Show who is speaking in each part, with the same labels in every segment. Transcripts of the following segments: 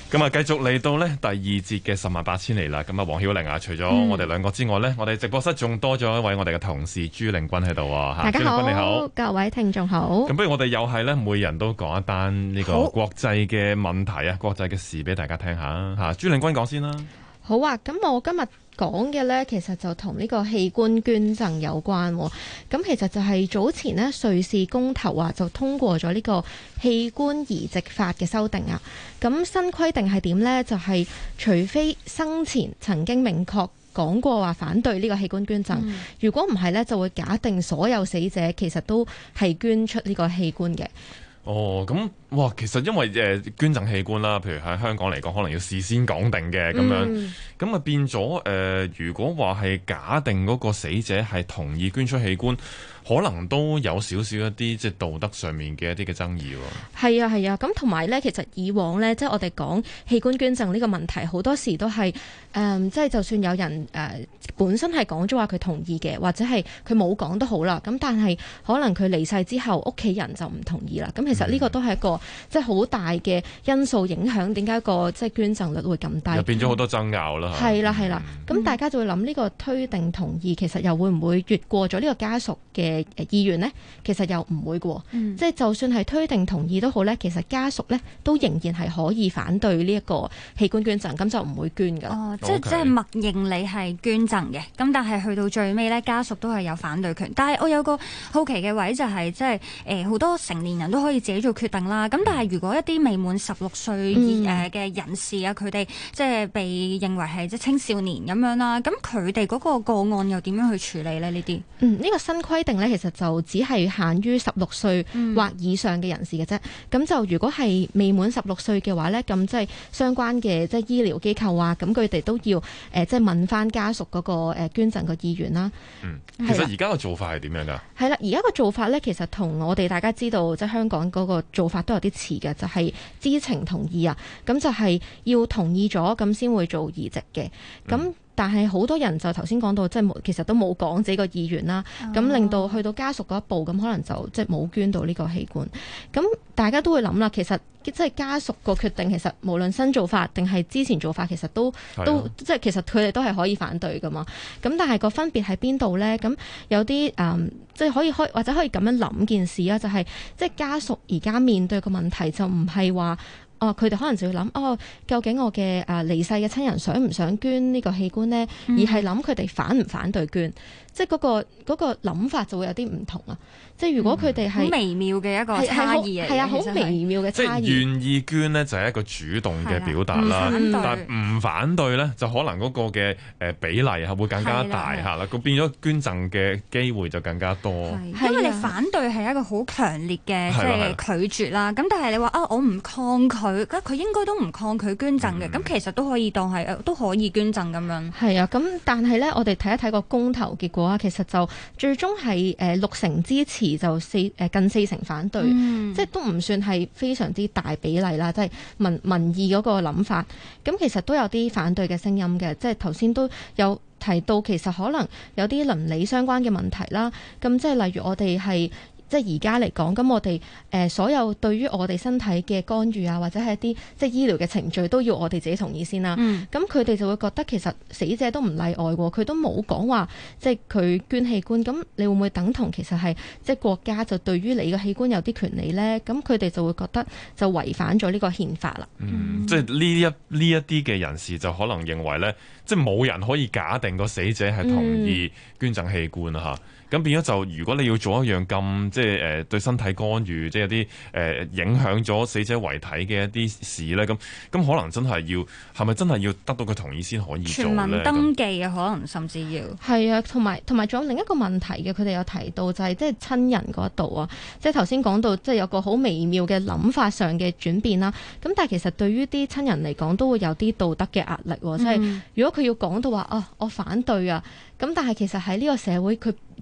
Speaker 1: 咁啊，繼續嚟到呢第二節嘅十萬八千里啦。咁啊，黃曉玲啊，除咗我哋兩個之外呢，我哋直播室仲多咗一位我哋嘅同事朱令筠喺度啊。
Speaker 2: 大家好，
Speaker 1: 朱令筠你好，
Speaker 2: 各位聽眾好。
Speaker 1: 咁不如我哋又係呢，每人都講一單呢個國際嘅問題啊，國際嘅事俾大家聽下吓。朱令筠講先啦。
Speaker 2: 好啊，咁我今日講嘅呢，其實就同呢個器官捐贈有關。咁其實就係早前呢，瑞士公投啊，就通過咗呢個器官移植法嘅修訂啊。咁新規定係點呢？就係除非生前曾經明確講過話反對呢個器官捐贈，如果唔係呢，就會假定所有死者其實都係捐出呢個器官嘅。
Speaker 1: 哦，咁哇，其實因為捐贈器官啦，譬如喺香港嚟講，可能要事先講定嘅咁樣，咁啊變咗如果話係假定嗰個死者係同意捐出器官，可能都有少少一啲即係道德上面嘅一啲嘅爭議喎。
Speaker 2: 係啊係啊，咁同埋咧，其實以往咧，即係我哋講器官捐贈呢個問題，好多時都係即係就算有人本身係講咗話佢同意嘅，或者係佢冇講都好啦。咁但係可能佢離世之後，屋企人就唔同意啦。咁其實呢個都係一個即係好大嘅因素影響，點解個即係捐贈率會咁低？
Speaker 1: 又變咗好多爭拗啦。
Speaker 2: 係啦係啦，咁大家就會諗呢個推定同意，其實又會唔會越過咗呢個家屬嘅意願呢？其實又唔會嘅，即係就算係推定同意都好呢，其實家屬呢都仍然係可以反對呢一個器官捐贈，咁就唔會捐㗎。
Speaker 3: 哦，即係默認你係捐贈嘅，咁但係去到最尾呢，家屬都係有反對權。但係我有個好奇嘅位就係，即係好多成年人都可以自己做決定啦。咁但係如果一啲未滿16歲嘅人士啊，佢哋即係被認為係即係青少年咁樣啦，咁佢哋嗰個個案又點樣去處理呢？呢啲
Speaker 2: 呢個新規定呢，其實就只係限於16歲或以上嘅人士嘅啫。咁就如果係未滿16歲嘅話呢，咁即係相關嘅即係醫療機構啊，咁佢哋都要即係問翻家屬嗰個捐贈嘅意願啦。
Speaker 1: 其實而家個做法係點樣㗎？
Speaker 2: 係啦，而家個做法呢，其實同我哋大家知道即係香港嗰個做法都有啲似嘅，就係知情同意啊。咁就係要同意咗咁先會做移植嘅。咁但係好多人就頭先講到，即係其實都冇講自己個意願啦，咁令到去到家屬嗰一步，咁可能就即係冇捐到呢個器官。咁大家都會諗啦，其實即係家屬個決定，其實無論新做法定係之前做法，其實都即係其實佢哋都係可以反對噶嘛。咁但係個分別喺邊度呢？咁有啲即係可以或者可以咁樣諗件事啊，就係即係家屬而家面對個問題就唔係話。佢哋可能就要諗，究竟我嘅離世嘅親人想唔想捐呢個器官呢？而係諗佢哋反唔反對捐，即係嗰個諗法就會有啲唔同啊！即係如果佢哋係
Speaker 3: 好微妙嘅一個差異嚟嘅，
Speaker 2: 係啊，好微妙嘅差異。
Speaker 1: 即係願意捐呢，就係一個主動嘅表達啦，但係唔反對呢，就可能嗰個嘅比例係會更加大嚇啦，咁變咗捐贈嘅機會就更加多。
Speaker 3: 因為你反對係一個好強烈嘅即係拒絕啦，咁但係你話我唔抗拒。佢應該都唔抗拒捐贈嘅，咁其實都可以當係都可以捐贈咁樣。
Speaker 2: 係啊，咁但係呢，我哋睇一睇個公投結果啊，其實就最終係60%支持，就近40%反對，即係都唔算係非常之大比例啦，即係民意嗰個諗法。咁其實都有啲反對嘅聲音嘅，即係頭先都有提到，其實可能有啲倫理相關嘅問題啦。咁即係例如我哋係。即係而家嚟講，咁我哋所有對於我哋身體嘅干預啊，或者係一啲即係醫療嘅程序，都要我哋自己同意先啦。咁佢哋就會覺得其實死者都唔例外喎，佢都冇講話即係佢捐器官，咁你會唔會等同其實係即係國家就對於你嘅器官有啲權利呢？咁佢哋就會覺得就違反咗呢個憲法啦。
Speaker 1: 即係呢一啲嘅人士就可能認為呢，即係冇人可以假定個死者係同意捐贈器官啊嚇。咁變咗就，如果你要做一樣咁即係對身體干預，即係有啲影響咗死者遺體嘅一啲事咧，咁可能真係係咪真係要得到佢同意先可以做咧？
Speaker 3: 全民登記啊，可能甚至要
Speaker 2: 係啊，同埋仲有另一個問題嘅，佢哋有提到就係即係親人嗰度啊，即係頭先講到即係有個好微妙嘅諗法上嘅轉變啦。咁但係其實對於啲親人嚟講，都會有啲道德嘅壓力喎。即係如果佢要講到話我反對啊，咁但係其實喺呢個社會佢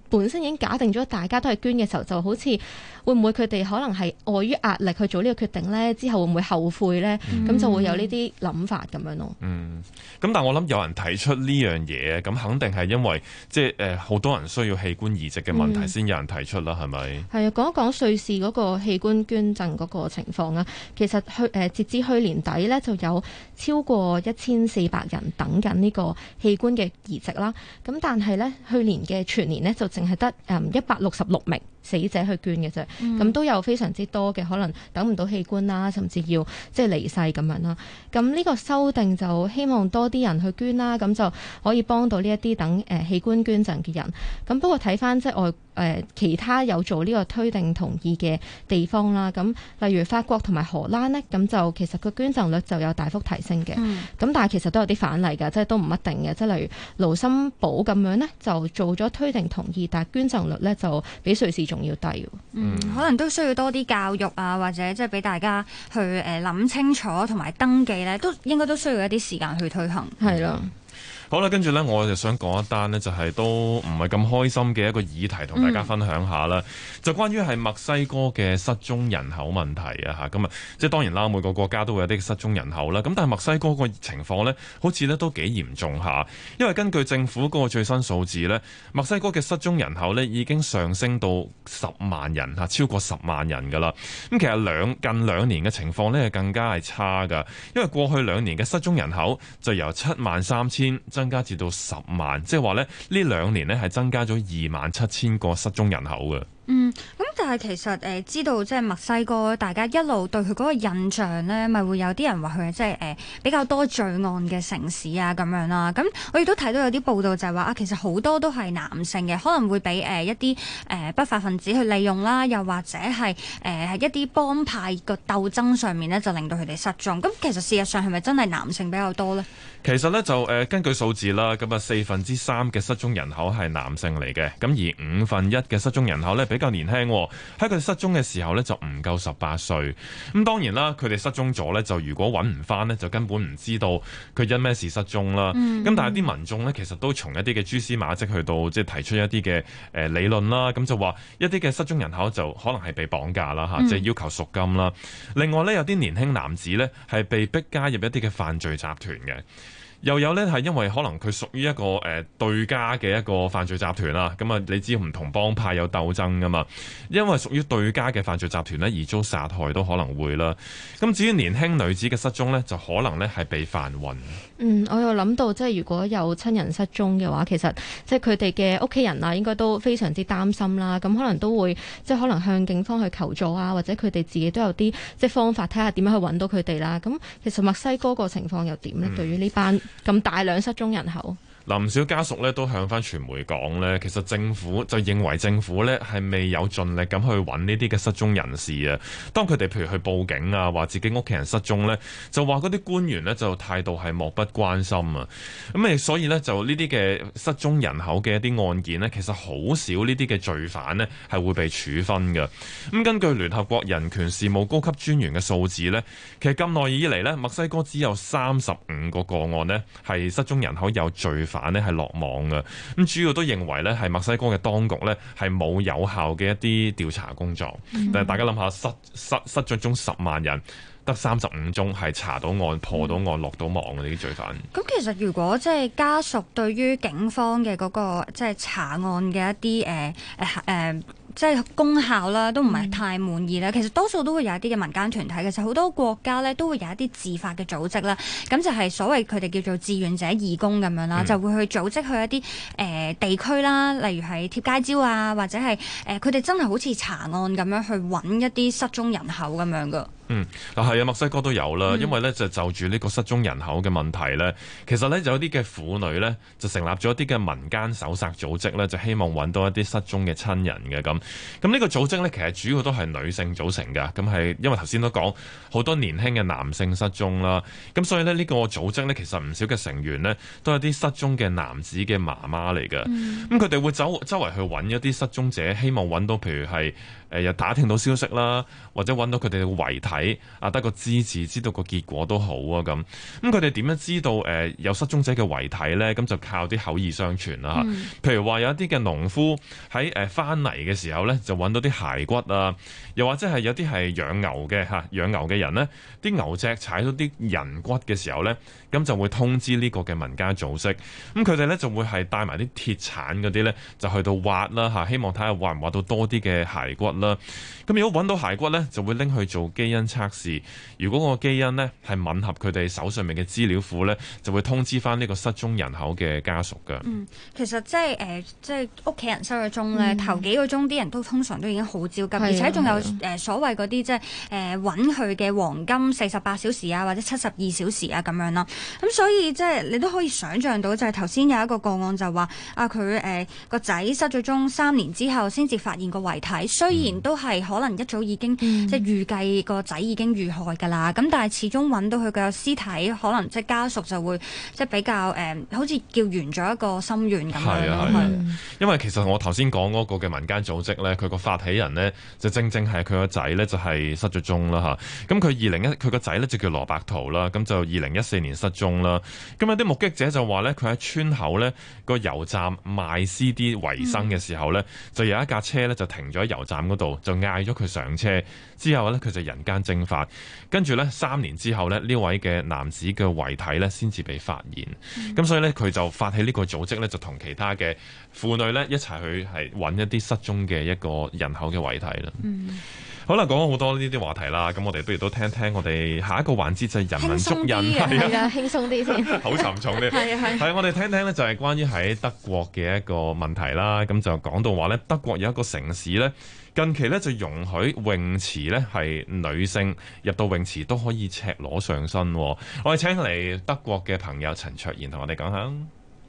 Speaker 2: 本身已經假定咗大家都係捐嘅時候，就好似會唔會佢哋可能係礙於壓力去做呢個決定呢？之後會唔會後悔呢？咁就會有呢啲諗法咁樣咯。
Speaker 1: 咁但係我諗有人提出呢樣嘢，咁肯定係因為即係好多人需要器官移植嘅問題先有人提出啦，係咪？
Speaker 2: 係啊，講一講瑞士嗰個器官捐贈嗰個情況啊。其實截至去年底呢，就有超過1400人等緊呢個器官嘅移植啦。咁但係呢，去年嘅全年呢，就淨係得166名死者去捐嘅啫。咁都有非常之多嘅可能等唔到器官啦，甚至要即係離世咁樣啦。咁呢個修訂就希望多啲人去捐啦，咁就可以幫到呢一啲等器官捐贈嘅人。咁不過睇翻即係其他有做呢個推定同意嘅地方啦，咁例如法國同埋荷蘭呢，咁就其實個捐贈率就有大幅提升嘅。咁但係其實都有啲反例㗎，即係都唔一定嘅。即係例如盧森堡咁樣呢，就做咗推定同意，但係捐贈率呢就比瑞士仲要低。
Speaker 3: 可能都需要多啲教育啊，或者即係俾大家去諗清楚同埋登記呢，都應該都需要一啲時間去推行。
Speaker 2: 係啦。
Speaker 1: 好啦，跟住呢，我就想講一單呢，就係都唔係咁開心嘅一個議題，同大家分享下啦。就關於係墨西哥嘅失蹤人口問題啊嚇。咁啊，即係當然啦，每個國家都會有啲失蹤人口啦。咁但係墨西哥個情況呢，好似呢都幾嚴重下。因為根據政府嗰個最新數字呢，墨西哥嘅失蹤人口呢已經上升到10萬人嚇，超過10萬人㗎啦。咁其實近兩年嘅情況呢，更加係差㗎。因為過去2年嘅失蹤人口就由73000增加至到10萬，即係話咧呢2年咧係增加咗27000個失蹤人口嘅。
Speaker 3: 咁但係其實知道即係墨西哥，大家一路對佢嗰個印象咧，咪會有啲人話佢係即係比較多罪案嘅城市啊咁樣啦。咁我亦都睇到有啲報道就係話啊，其實好多都係男性嘅，可能會俾一啲不法分子去利用啦，又或者係一啲幫派個鬥爭上面咧，就令到佢哋失蹤。咁其實事實上係咪真係男性比較多咧？
Speaker 1: 其實咧就根據數字啦，咁啊3/4嘅失蹤人口係男性嚟嘅，咁而1/5嘅失蹤人口咧比較年輕，喺佢哋失蹤嘅時候咧就唔夠18歲。咁當然啦，佢哋失蹤咗咧，就如果揾唔翻咧，就根本唔知道佢因咩事失蹤啦。咁但係啲民眾咧，其實都從一啲嘅蛛絲馬跡去到即係提出一啲嘅理論啦。咁就話一啲嘅失蹤人口就可能係被綁架啦嚇，即係要求贖金啦。另外咧，有啲年輕男子咧係被逼加入一啲嘅犯罪集團嘅。又有呢係因為可能佢屬於一個對家嘅一個犯罪集團啦，咁啊你知唔同幫派有鬥爭噶嘛？因為屬於對家嘅犯罪集團呢，而遭殺害都可能會啦。咁至於年輕女子嘅失蹤呢，就可能呢係被販運。
Speaker 2: 我又諗到即係如果有親人失蹤嘅話，其實即係佢哋嘅屋企人啊，應該都非常之擔心啦。咁可能都會即係可能向警方去求助啊，或者佢哋自己都有啲即係方法睇下點樣去揾到佢哋啦。咁其實墨西哥個情況又點呢？對於呢班咁大量失蹤人口？
Speaker 1: 唔少家屬咧都向翻傳媒講咧，其實政府就認為政府咧係未有盡力咁去揾呢啲嘅失蹤人士啊。當佢哋譬如去報警啊，話自己屋企人失蹤咧，就話嗰啲官員咧就態度係漠不關心啊。咁所以咧就呢啲嘅失蹤人口嘅一啲案件呢，其實好少呢啲嘅罪犯呢係會被處分嘅。咁根據聯合國人權事務高級專員嘅數字呢，其實咁耐以嚟呢，墨西哥只有35個個案呢係失蹤人口有罪犯咧係落網嘅。咁主要都認為咧係墨西哥嘅當局咧係冇有效嘅一啲調查工作。但係大家諗下，失咗蹤10萬人，得35宗係查到案、破到案、落到網嘅呢啲罪犯。
Speaker 3: 咁其實如果即係家屬對於警方嘅嗰個即係查案嘅一啲即係功效啦，都唔係太滿意啦。其實多數都會有一啲嘅民間團體，其實好多國家咧都會有一啲自發嘅組織啦。咁就係所謂佢哋叫做志願者義工咁樣啦，就會去組織去一啲地區啦，例如係貼街招啊，或者係佢哋真係好似查案咁樣去揾一啲失蹤人口咁樣噶。
Speaker 1: 係啊，墨西哥都有啦，因為咧就住呢個失蹤人口嘅問題咧，其實咧有啲嘅婦女咧就成立咗一啲嘅民間搜索組織咧，就希望揾到一啲失蹤嘅親人嘅咁。咁呢個組織咧其實主要都係女性組成㗎，咁係因為頭先都講好多年輕嘅男性失蹤啦，咁所以咧呢個組織咧其實唔少嘅成員咧都係啲失蹤嘅男子嘅媽媽嚟㗎。咁佢哋會周圍去揾一啲失蹤者，希望揾到譬如係又打聽到消息啦，或者揾到佢哋嘅遺體睇啊，得個知字，知道個結果都好啊咁。咁佢哋點樣知道有失蹤者嘅遺體呢？咁就靠啲口耳相傳啦。譬如話有一啲嘅農夫喺翻嚟嘅時候呢，就揾到啲骸骨啊，又或者係有啲係養牛嘅養牛嘅人呢，啲牛隻踩到啲人骨嘅時候呢，咁就會通知呢個嘅民間組織。咁佢哋呢就會係帶埋啲鐵鏟嗰啲呢，就去到挖啦，希望睇下挖唔挖到多啲嘅骸骨啦。咁如果揾到骸骨呢，就會拎去做基因測試。如果個基因呢係吻合佢哋手上面嘅資料庫呢，就會通知翻呢個失蹤人口嘅家屬㗎。
Speaker 3: 其實即係屋企人失咗蹤咧，頭幾個鐘啲人都通常都已經好焦急，而且仲有所謂嗰啲即係揾佢嘅黃金48小時啊，或者72小時啊咁樣啦。咁所以即係你都可以想像到，就係頭先有一個個案就話佢個仔失咗蹤3年之後先至發現個遺體，雖然都係可能一早已經即係預計個仔已經遇害㗎啦，咁但係始終揾到佢嘅屍體，可能即係家屬就會即係比較好似叫圓咗一個心願咁樣咯。
Speaker 1: 因為其實我頭先講嗰個嘅民間組織咧，佢個發起人呢，就正係佢個仔咧就係失咗蹤啦嚇。咁佢個仔咧就叫羅伯圖啦，咁就2014年失蹤啦。咁有啲目擊者就話咧，佢喺村口咧個油站賣 CD 為生嘅時候咧，就有一架車咧就停咗喺油站嗰度，就嗌咗佢上車。之後咧佢就人間蒸發，跟住咧3年之後咧呢位嘅男子嘅遺體咧先至被發現。咁所以咧佢就發起呢個組織咧，就同其他嘅婦女咧一齊去係揾一啲失蹤嘅一個人口嘅遺體啦。好啦，講咗好多呢啲話題啦，咁我哋不如都聽聽我哋下一個環節就係人文足印，
Speaker 2: 係啊，輕鬆啲先，
Speaker 1: 好沉重啲。係我哋聽聽咧就係關於喺德國嘅一個問題啦。咁就講到話咧，德國有一個城市咧，近期咧就容許泳池咧係女性入到泳池都可以赤裸上身。我哋請嚟德國嘅朋友陳卓賢同我哋講下。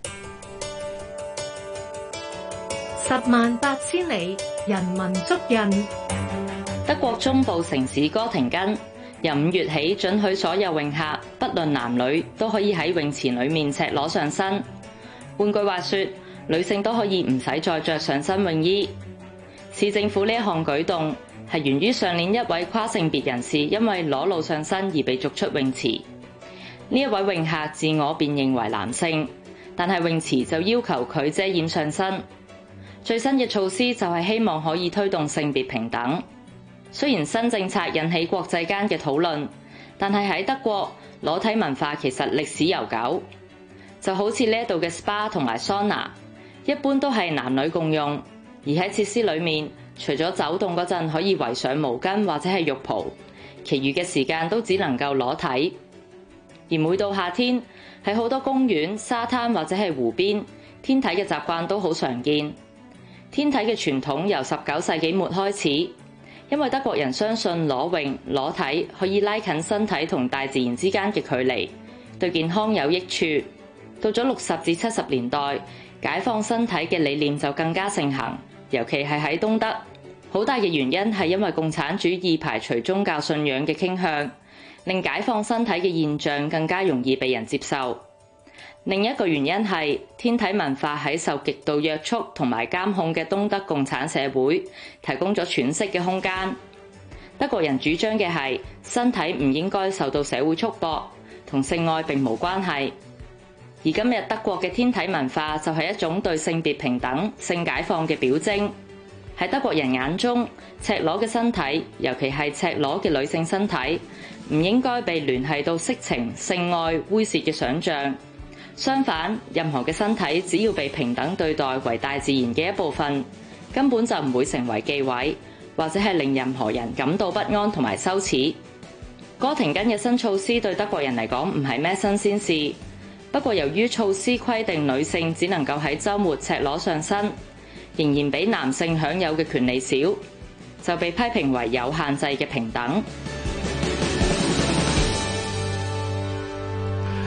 Speaker 4: 108000里，人文足印。
Speaker 5: 德國中部城市哥廷根由5月起准許所有泳客，不論男女，都可以喺泳池裏面赤裸上身。換句話說，女性都可以唔使再着上身泳衣。市政府呢一項舉動係源於上年一位跨性別人士因為裸露上身而被逐出泳池。呢一位泳客自我辨認為男性，但係泳池就要求佢遮掩上身。最新嘅措施就係希望可以推動性別平等。雖然新政策引起國際間嘅討論，但係喺德國，裸體文化其實歷史悠久。就好似呢度嘅 SPA 同埋桑拿，一般都係男女共用，而喺設施裏面，除咗走動嗰陣可以圍上毛巾或者係浴袍，其餘嘅時間都只能夠裸體。而每到夏天，喺好多公園、沙灘或者係湖邊，天體嘅習慣都好常見。天體嘅傳統由19世紀末開始。因為德國人相信裸泳、裸體可以拉近身體同大自然之間嘅距離，對健康有益處。到咗60至70年代，解放身體嘅理念就更加盛行，尤其係喺東德。好大嘅原因係因為共產主義排除宗教信仰嘅傾向，令解放身體嘅現象更加容易被人接受。另一個原因係天體文化喺受極度約束同埋監控嘅東德共產社會提供咗喘息嘅空間。德國人主張嘅係身體唔應該受到社會束縛，同性愛並無關係。而今日德國嘅天體文化就係一種對性別平等、性解放嘅表徵。喺德國人眼中，赤裸嘅身體，尤其係赤裸嘅女性身體，唔應該被聯繫到色情、性愛、猥褻嘅想像。相反，任何嘅身體只要被平等對待為大自然嘅一部分，根本就唔會成為忌諱，或者係令任何人感到不安同埋羞恥。哥廷根嘅新措施對德國人嚟講唔係咩新鮮事，不過由於措施規定女性只能夠喺週末赤裸上身，仍然比男性享有嘅權利少，就被批評為有限制嘅平等。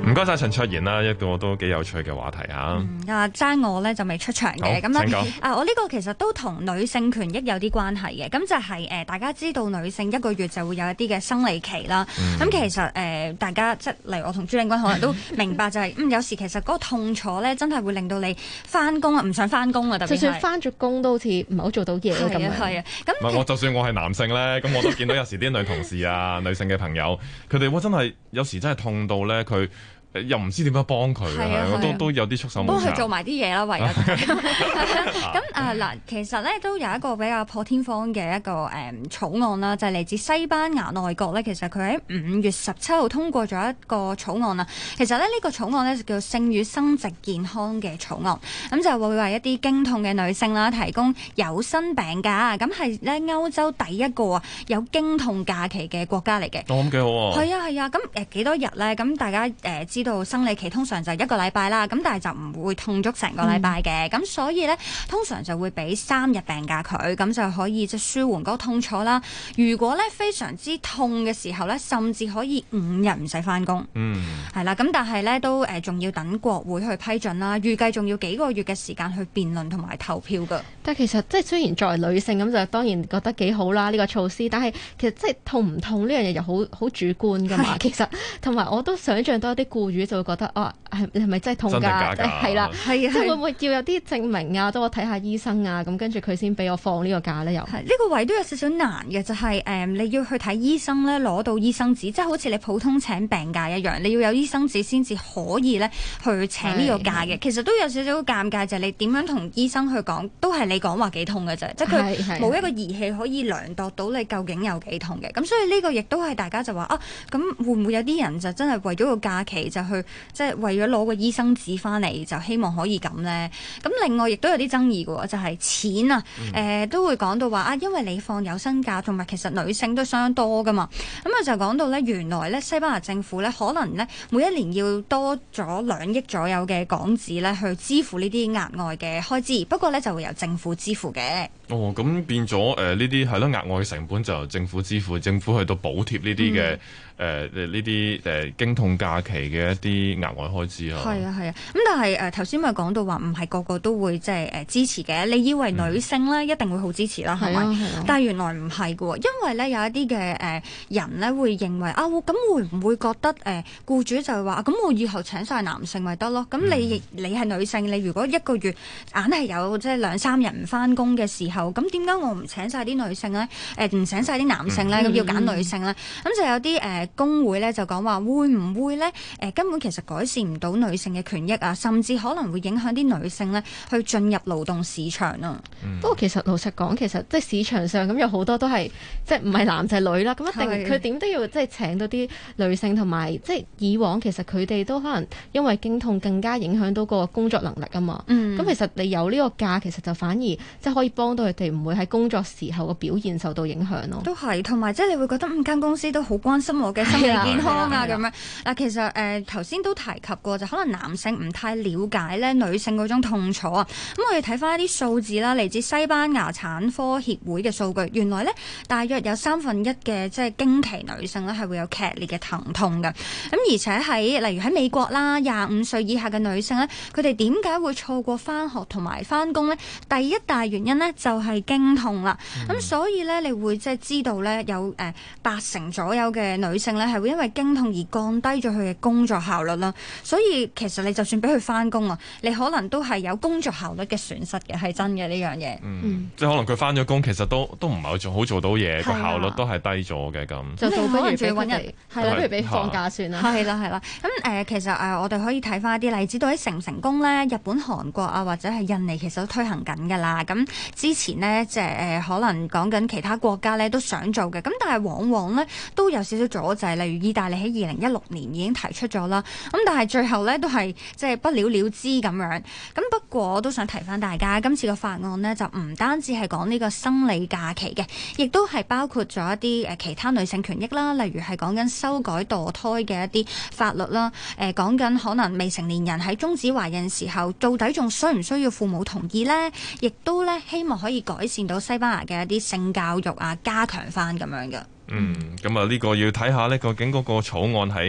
Speaker 1: 唔該晒陳卓妍啦，一個都幾有趣嘅話題嚇。
Speaker 3: 爭我咧就未出場嘅，咁咧我呢個其實都同女性權益有啲關係嘅，咁就係大家知道女性1個月就會有一啲嘅生理期啦。咁其實大家即係例如我同朱令筠可能都明白就係有時其實嗰個痛楚咧真係會令到你翻工啊唔想翻工啊，特別係就算
Speaker 2: 翻咗工都好似唔係好做到嘢咁樣。
Speaker 3: 係啊，咁
Speaker 1: 我就算我係男性咧，咁我都見到有時啲女同事啊、女性嘅朋友，佢哋真係有時真係痛到咧，佢又唔知點樣幫佢都有啲束手無策。
Speaker 3: 幫佢做埋啲嘢啦，唯有。咁嗱，其實咧都有一個比較破天荒嘅一個草案啦，就係嚟自西班牙內閣咧。其實佢喺5月17號通過咗一個草案啦。其實咧呢個草案咧就叫性與生殖健康嘅草案，咁就會為一啲經痛嘅女性啦提供有薪病假。咁係咧歐洲第一個有經痛假期嘅國家嚟嘅。
Speaker 1: 咁幾好喎。
Speaker 3: 係啊，咁幾多日咧？咁大家知道生理期通常就1個禮拜啦，咁但係就唔會痛足成個禮拜嘅，咁所以咧通常就會俾3日病假佢，咁就可以即係舒緩嗰個痛楚啦。如果咧非常之痛嘅時候咧，甚至可以5日唔使翻工。係啦，咁但係咧都仲要等國會去批准啦，預計仲要幾個月嘅時間去辯論同埋投票噶。
Speaker 2: 但係其實即係雖然作為女性咁就當然覺得幾好啦呢個措施，但係其實即係痛唔痛呢樣嘢又好主觀噶嘛。其實同埋我都想象到一啲僱主就會覺得係咪真係痛㗎？係啦，即係會唔會要有啲證明啊？都我睇下醫生啊，咁跟住佢先俾我放呢個假咧？又係
Speaker 3: 呢個位都有少少難嘅，就係你要去睇醫生咧，攞到醫生紙，即係好似你普通請病假一樣，你要有醫生紙先至可以咧去請呢個假嘅。其實都有少少尷尬，就係你點樣同醫生去講，都係你講話幾痛嘅啫，即係佢冇一個儀器可以量度到你究竟有幾痛嘅。咁所以呢個亦都係大家就話咁會唔會有啲人就真係為咗個假期就去即係為咗攞個醫生紙翻嚟就希望可以咁呢？咁另外亦都有啲爭議嘅，就係錢啊，都會講到話因為你放有薪假，同埋其實女性都相當多噶嘛。咁就講到呢，原來呢西班牙政府呢，可能呢每一年要多咗2億左右嘅港紙呢去支付呢啲額外嘅開支，不過呢就會由政府支付嘅。
Speaker 1: 咁變咗呢啲係咯，額外成本就由政府支付，政府去到補貼呢啲嘅呢啲經痛假期嘅一啲額外開支啊。
Speaker 3: 係啊，咁但係頭先咪講到話唔係個個都會即係支持嘅。你以為女性咧一定會好支持啦，係咪？但係原來唔係嘅，因為咧有一啲嘅人咧會認為咁會唔會覺得僱主就係話咁我以後請晒男性咪得咯？咁你係女性，你如果1個月硬係有即係2-3日唔翻工嘅時候，咁點解我唔請晒啲女性咧？唔請晒啲男性咧？咁要揀女性咧？咁就有啲工會咧就講話會唔會咧根本其實改善唔到女性嘅權益啊，甚至可能會影響啲女性咧去進入勞動市場啊。
Speaker 2: 不過其實老實講，其實即係市場上咁有好多都係即係唔係男就係女啦，咁一定佢點都要即係請到啲女性，同埋即係以往其實佢哋都可能因為經痛更加影響到個工作能力啊嘛。咁其實你有呢個假，其實就反而即係可以幫到佢哋唔會喺工作時候個表現受到影響咯。
Speaker 3: 都係，同埋即係你會覺得間公司都好關心我嘅心理健康啊咁樣。嗱，其實頭先都提及過，就可能男性唔太了解咧女性嗰種痛楚啊。咁我哋睇翻一啲數字啦，嚟自西班牙產科協會嘅數據，原來咧大約有1/3嘅即係經期女性咧係會有劇烈嘅疼痛嘅。咁而且例如喺美國啦，25歲以下嘅女性咧，佢哋點解會錯過翻學同埋翻工咧？第一大原因咧就係經痛啦。咁所以咧，你會即係知道咧有80%左右嘅女性咧係會因為經痛而降低咗佢嘅工作效率啦。所以其實你就算俾佢翻工啊，你可能都係有工作效率嘅損失嘅，係真嘅呢樣嘢。
Speaker 1: 即係可能佢翻咗工，其實都唔係好做到嘢，個效率都係低咗嘅咁。
Speaker 2: 就倒不如俾
Speaker 3: 揾人
Speaker 2: 係啦，不如俾放假算啦。
Speaker 3: 係啦。咁其實我哋可以睇翻一啲例子，到底成唔成功咧？日本、韓國啊，或者係印尼，其實都推行緊㗎啦。咁之前呢，即係可能講緊其他國家咧都想做嘅，咁但係往往咧都有少少阻滯。例如意大利喺2016年已經提出咗啦，咁但係最後咧都係即係不了了之咁樣。咁不過我都想提翻大家，今次個法案呢，就唔單止係講呢個生理假期嘅，亦都係包括咗一啲其他女性權益啦，例如係講緊修改墮胎嘅一啲法律啦，講緊可能未成年人喺終止懷孕時候，到底仲需唔需要父母同意呢？亦都咧希望可以改善到西班牙嘅一啲性教育啊，加強翻咁樣嘅。
Speaker 1: 咁啊呢個要睇下呢，究竟嗰個草案喺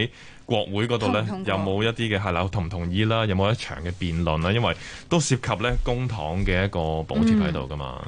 Speaker 1: 國會嗰度咧有冇一啲嘅係啦，同唔同意啦？有冇一場嘅辯論啦？因為都涉及咧公帑嘅一個補貼喺度噶嘛。